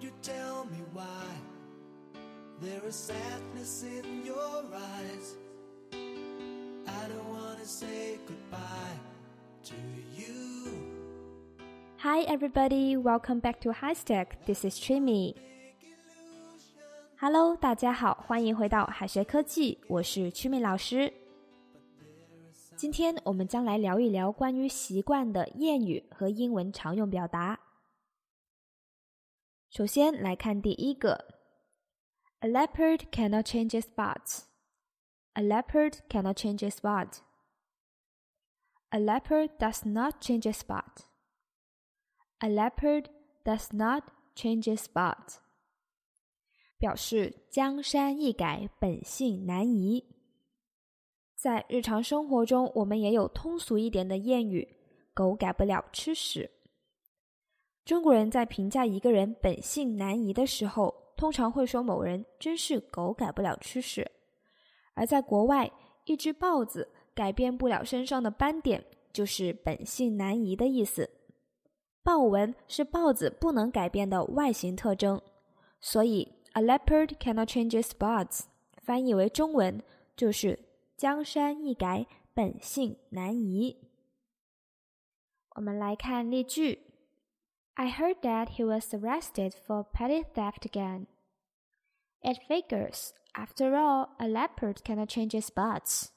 you tell me why there is sadness in your eyes? I don't wanna say goodbye to you. Hi everybody, welcome back to HiStack. This is Trimi. Hello, 大家好，欢迎回到海学科技，我是Trimi老师。今天我们将来聊一聊关于习惯的谚语和英文常用表达。首先来看第一个 A leopard cannot change its spots. A leopard cannot change its spot. A leopard does not change its spot. A leopard does not change its spot. 表示江山易改，本性难移。在日常生活中，我们也有通俗一点的谚语，狗改不了吃屎。中国人在评价一个人本性难移的时候，通常会说某人真是狗改不了吃屎。而在国外，一只豹子改变不了身上的斑点，就是本性难移的意思。豹纹是豹子不能改变的外形特征，所以 A leopard cannot change its spots 翻译为中文就是江山易改，本性难移。我们来看例句 I heard that he was arrested for petty theft again. It figures, after all, a leopard cannot change its spots.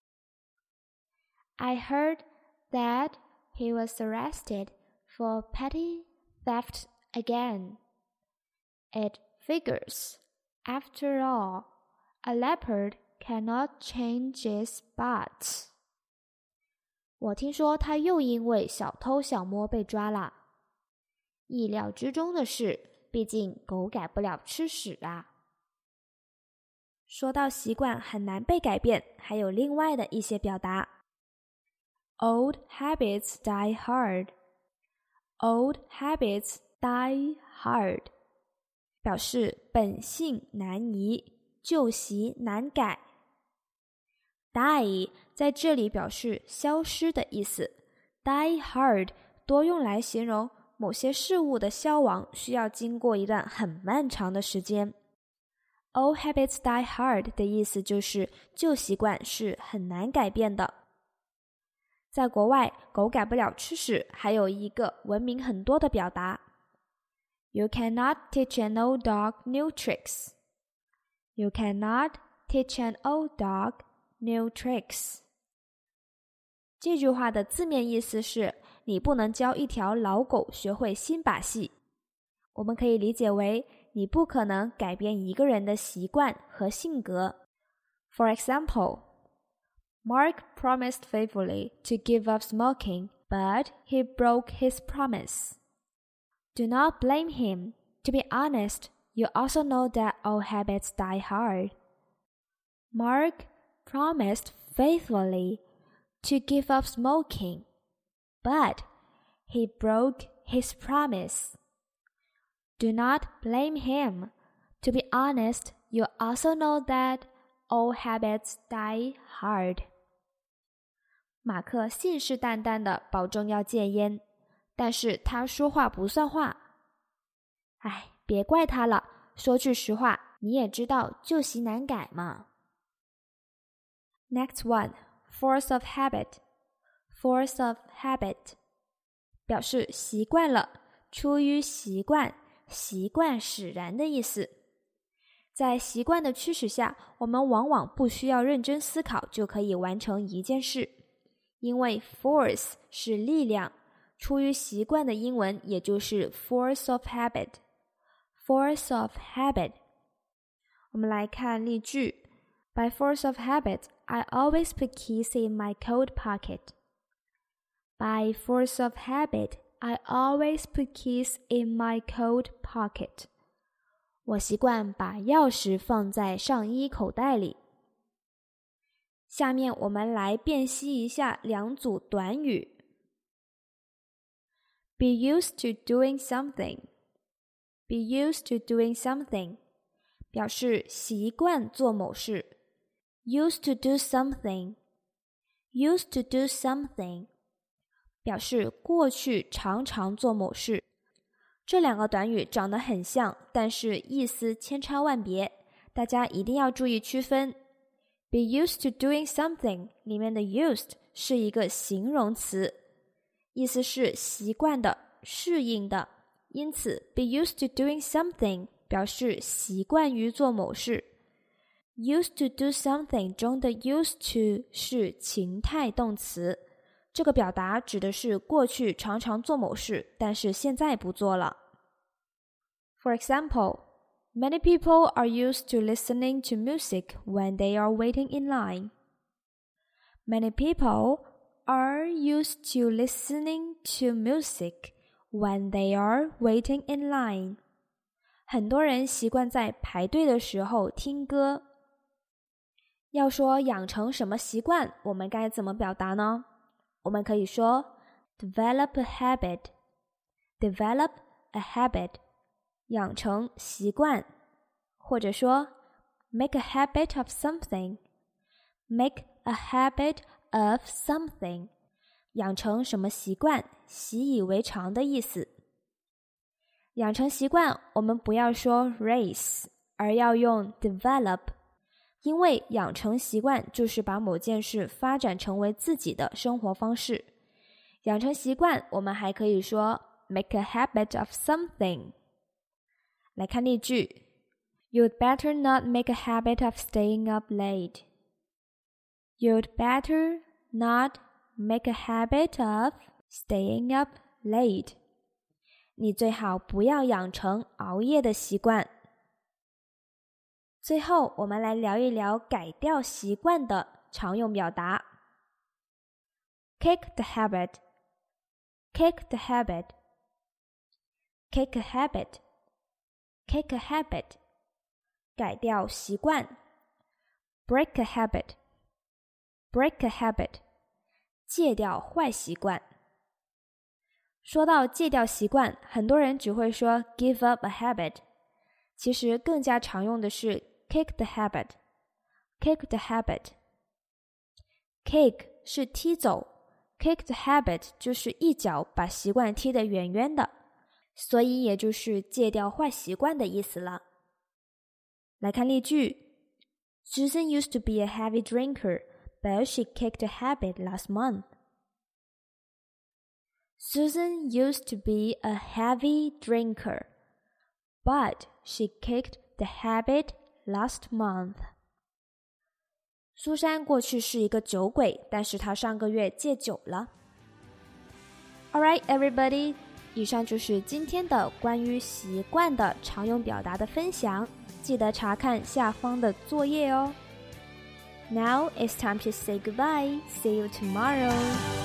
I heard that he was arrested for petty theft again. It figures, after all, a leopard cannot change its spots. 我听说他又因为小偷小摸被抓了。意料之中的是，毕竟狗改不了吃屎啊。说到习惯很难被改变，还有另外的一些表达。Old habits die hard. Old habits die hard. 表示本性难移，旧习难改。Die 在这里表示消失的意思。Die hard 多用来形容某些事物的消亡需要经过一段很漫长的时间。Old habits die hard 的意思就是旧习惯是很难改变的。在国外，狗改不了吃屎还有一个闻名很多的表达 You cannot teach an old dog new tricks. You cannot teach an old dog new tricks. 这句话的字面意思是你不能教一条老狗学会新把戏。我们可以理解为你不可能改变一个人的习惯和性格。For example, Mark promised faithfully to give up smoking, but he broke his promise. Do not blame him. To be honest, you also know that old habits die hard. Mark promised faithfully to give up smoking, but he broke his promise. Do not blame him. To be honest, you also know that old habits die hard. 马克信誓旦旦地保证要戒烟，但是他说话不算话。哎，别怪他了，说句实话，你也知道旧习难改嘛。Next one, force of habit. Force of habit 表示习惯了，出于习惯，习惯使然的意思。在习惯的驱使下，我们往往不需要认真思考就可以完成一件事，因为 force 是力量，出于习惯的英文也就是 force of habit. Force of habit. 我们来看例句 By force of habit, I always put keys in my coat pocket. By force of habit, I always put keys in my coat pocket. 我习惯把钥匙放在上衣口袋里。下面我们来辨析一下两组短语。Be used to doing something. Be used to doing something 表示习惯做某事。Used to do something. Used to do something 表示过去常常做某事。 这两个短语长得很像，但是意思千差万别，大家一定要注意区分。Be used to doing something 里面的 used 是一个形容词，意思是习惯的、适应的，因此 be used to doing something 表示习惯于做某事。Used to do something 中的 used to 是情态动词，这个表达指的是过去常常做某事，但是现在不做了。For example, many people are used to listening to music when they are waiting in line. Many people are used to listening to music when they are waiting in line. 很多人习惯在排队的时候听歌。要说养成什么习惯，我们该怎么表达呢？我们可以说 develop a habit, develop a habit, 养成习惯，或者说 make a habit of something, make a habit of something, 养成什么习惯，习以为常的意思。养成习惯，我们不要说 raise， 而要用 develop，因为养成习惯就是把某件事发展成为自己的生活方式。养成习惯，我们还可以说 make a habit of something。来看例句 You'd better not make a habit of staying up late. You'd better not make a habit of staying up late. 你最好不要养成熬夜的习惯。最后，我们来聊一聊改掉习惯的常用表达。Kick the habit, kick the habit, kick a habit, kick a habit, 改掉习惯。Break a habit, break a habit, 戒掉坏习惯。说到戒掉习惯，很多人只会说 give up a habit， 其实更加常用的是Kick the habit, kick the habit. Kick 是踢走， kick the habit 就是一脚把习惯踢得远远的，所以也就是戒掉坏习惯的意思了。来看例句 Susan used to be a heavy drinker, but she kicked the habit last month. Susan used to be a heavy drinker, but she kicked the habit last month. 苏珊过去是一个酒鬼，但是她上个月戒酒了。Alright, everybody, 以上就是今天的关于习惯的常用表达的分享，记得查看下方的作业哦。Now it's time to say goodbye. See you tomorrow.